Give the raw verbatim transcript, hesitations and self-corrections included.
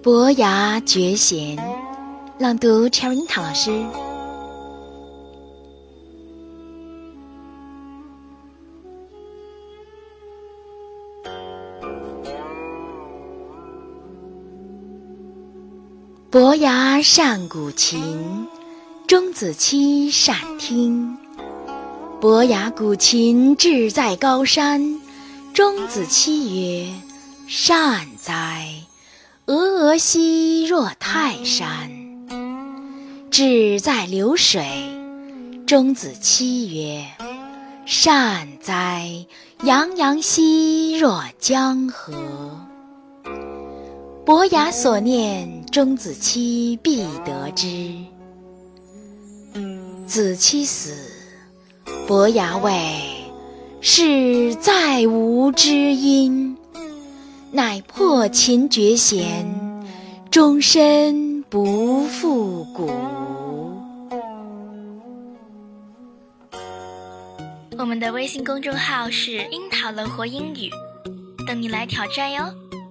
伯牙绝弦，朗读 Cherry 樱桃老师。伯牙善鼓琴，钟子期善听。伯牙鼓琴志在高山，钟子期曰：善哉！峨峨兮若泰山。志在流水，钟子期曰：善哉！洋洋兮若江河。伯牙所念，钟子期必得之。子期死，伯牙谓：是再无知音，乃破琴绝弦，终身不复鼓。 我们的微信公众号是樱桃乐活英语，等你来挑战哟。